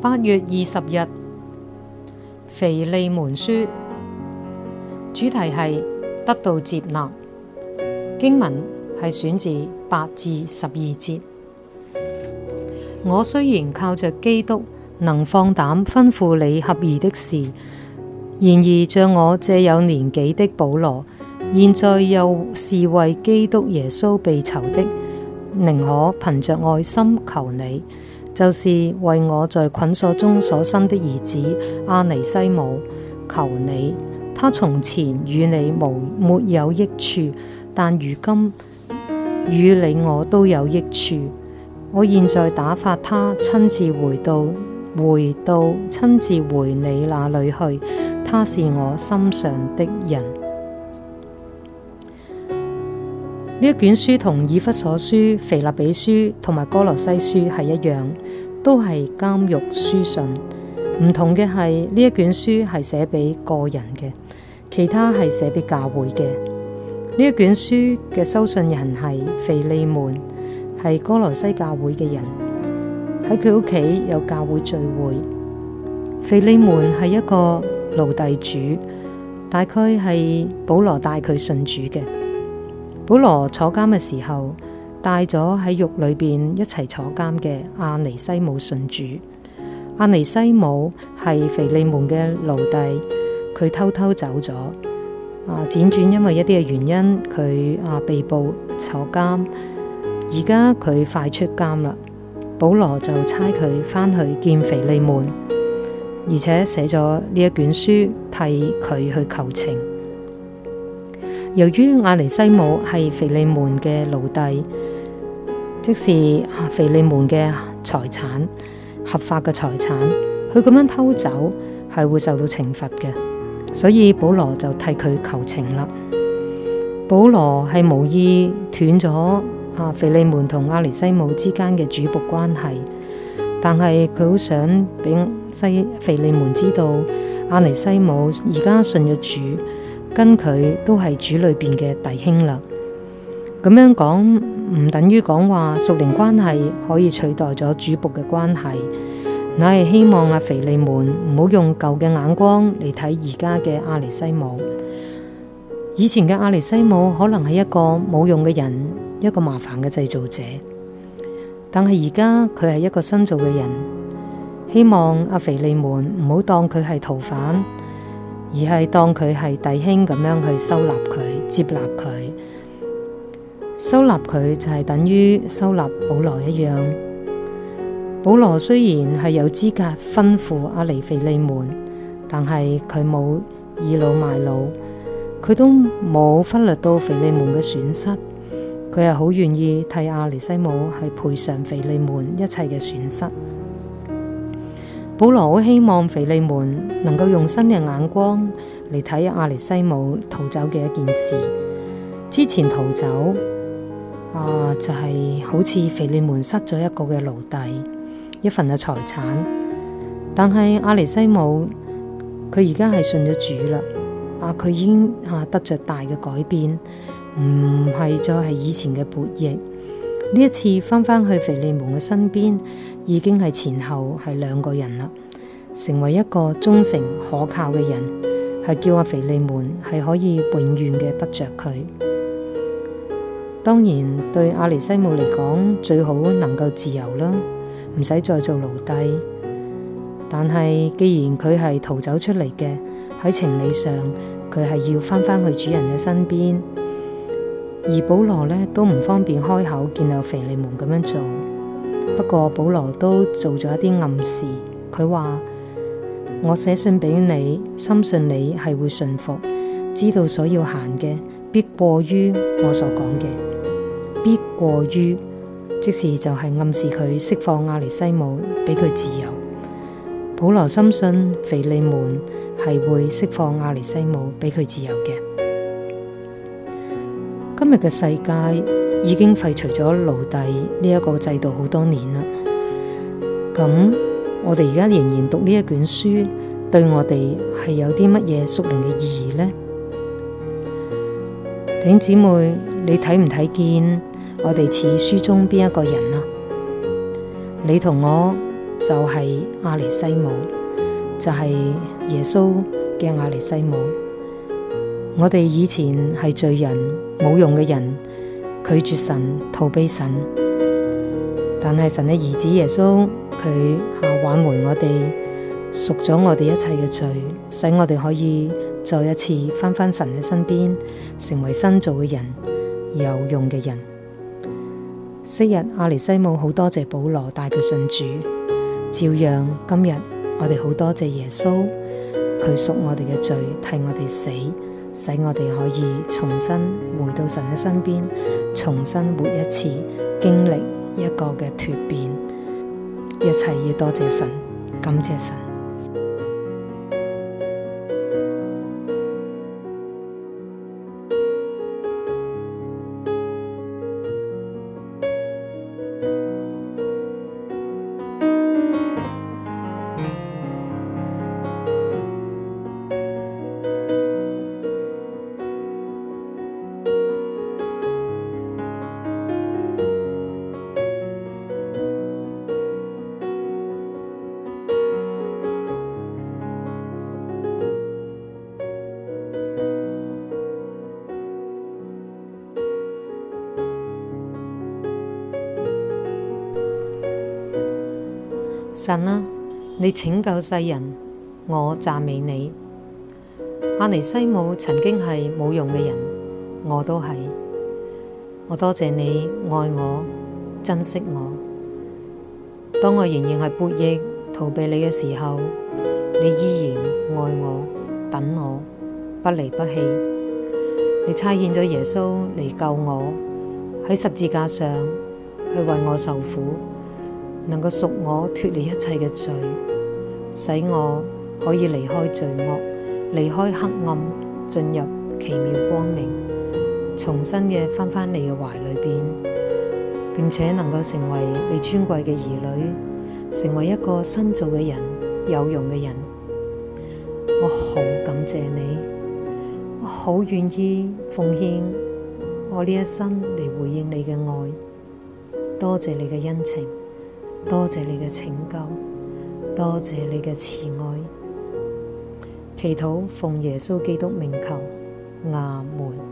8月20日，腓利門書，主題係得到接納。經文係選自8至12節。我雖然靠着基督能放膽吩咐你合宜的事，然而像我這有年紀的保羅，現在又是為基督耶穌被囚的，寧可憑着愛心求你，就是為我在捆鎖中所生的兒子阿尼西姆，求你，他從前與你沒有益處，但如今與你我都有益處。我現在打發他親自回你那裏去，他是我心上的人。呢一卷書同以弗所書、腓立比書同埋歌羅西書係一樣，都係監獄書信。唔同嘅係呢一卷書係寫俾個人嘅，其他係寫俾教會嘅。呢一卷書嘅收信人係腓利門，係歌羅西教會嘅人，喺佢屋企有教會聚會。腓利門係一個奴隸主，大概係保羅帶佢信主嘅。保羅坐監嘅時候，帶咗喺獄裏邊一齊坐監嘅阿尼西姆信主。阿尼西姆係腓利門嘅奴隸，佢偷偷走咗。輾轉因為一啲嘅原因，佢被捕坐監，而家佢快出監啦。保羅就差佢返去見腓利門，而且寫咗呢一卷書替佢去求情。由於阿尼西姆係腓利門嘅奴隸，即是腓利門嘅財產，合法嘅財產，佢咁樣偷走係會受到懲罰嘅，所以保羅就替佢求情啦。保羅係無意斷咗腓利門同阿尼西姆之間嘅主僕關係，但係佢好想俾腓利門知道阿尼西姆而家信咗主，跟佢都係主裏邊嘅弟兄啦。咁樣講唔等於講話屬靈關係可以取代咗主僕嘅關係，乃係希望腓利門唔好用舊嘅眼光嚟睇而家嘅阿尼西姆。以前嘅阿尼西姆可能係一個冇用嘅人，一個麻煩嘅製造者，但係而家佢係一個新造嘅人。希望腓利門唔好當佢係逃犯，而係當佢係弟兄咁樣去收納佢、接納佢。收納佢就係等於收納保羅一樣。保羅雖然係有資格吩咐腓利門，但係佢冇倚老賣老，佢都冇忽略到腓利門嘅損失。佢係好願意替阿尼西姆係賠償腓利門一切嘅損失。保羅好希望腓利門能夠用新嘅眼光嚟睇阿尼西姆逃走嘅一件事。之前逃走就係好似腓利門失咗一個嘅奴隸，一份嘅財產。但係阿尼西姆佢而家係信咗主啦，佢已經得着大嘅改變，唔係再係以前嘅悖逆。呢一次翻返去腓利門嘅身邊，已經係前後係兩個人啦，成為一個忠誠可靠嘅人，係叫腓利門係可以永遠嘅得着佢。當然對阿尼西姆嚟講，最好能夠自由啦，唔使再做奴隸。但係既然佢係逃走出嚟嘅，喺情理上佢係要翻返去主人嘅身邊。而保羅呢都唔方便開口見到腓利門咁樣做，不過保羅都做咗一啲暗示。佢話：我寫信俾你，深信你係會順服，知道所要行嘅必過於我所講嘅，必過於，即是就係暗示佢釋放阿尼西姆，俾佢自由。保羅深信腓利門係會釋放阿尼西姆，俾佢自由嘅。今日嘅世界已經廢除咗奴隸呢一個制度好多年啦。咁我哋而家仍然讀呢一卷書，對我哋係有啲乜嘢屬靈嘅意義呢？弟兄姊妹，你睇唔睇見我哋似書中邊一個人啊？你同我就係阿尼西姆，就係耶穌嘅阿尼西姆。我哋以前係罪人，冇用嘅人，拒絕神，逃避神。但係神嘅兒子耶穌，佢挽回我哋，贖咗我哋一切嘅罪，使我哋可以再一次返神嘅身邊，成為新造嘅人，有用嘅人。昔日阿尼西姆好多謝保羅帶佢信主，照樣今日我哋好多謝耶穌，佢贖我哋嘅罪，替我哋死，使我哋可以重新回到神嘅身邊，重新活一次，經歷一個嘅蛻變。一切要多謝神，感謝神。神啊，你拯救世人，我讚美你。阿尼西姆曾經係冇用嘅人，我都係。我多謝你愛我，珍惜我。當我仍然係悖逆逃避你嘅時候，你依然愛我，等我，不離不棄。你差遣咗耶穌嚟救我，喺十字架上去為我受苦，能夠贖我脫離一切嘅罪，使我可以離開罪惡，離開黑暗，進入奇妙光明，重新嘅返你嘅懷裏邊，並且能夠成為你尊貴嘅兒女，成為一個新造嘅人，有用嘅人。我好感謝你，我好願意奉獻我呢一生嚟回應你嘅愛。多謝你嘅恩情，多謝你嘅拯救，多謝你嘅慈愛。祈禱奉耶穌基督名求，阿門。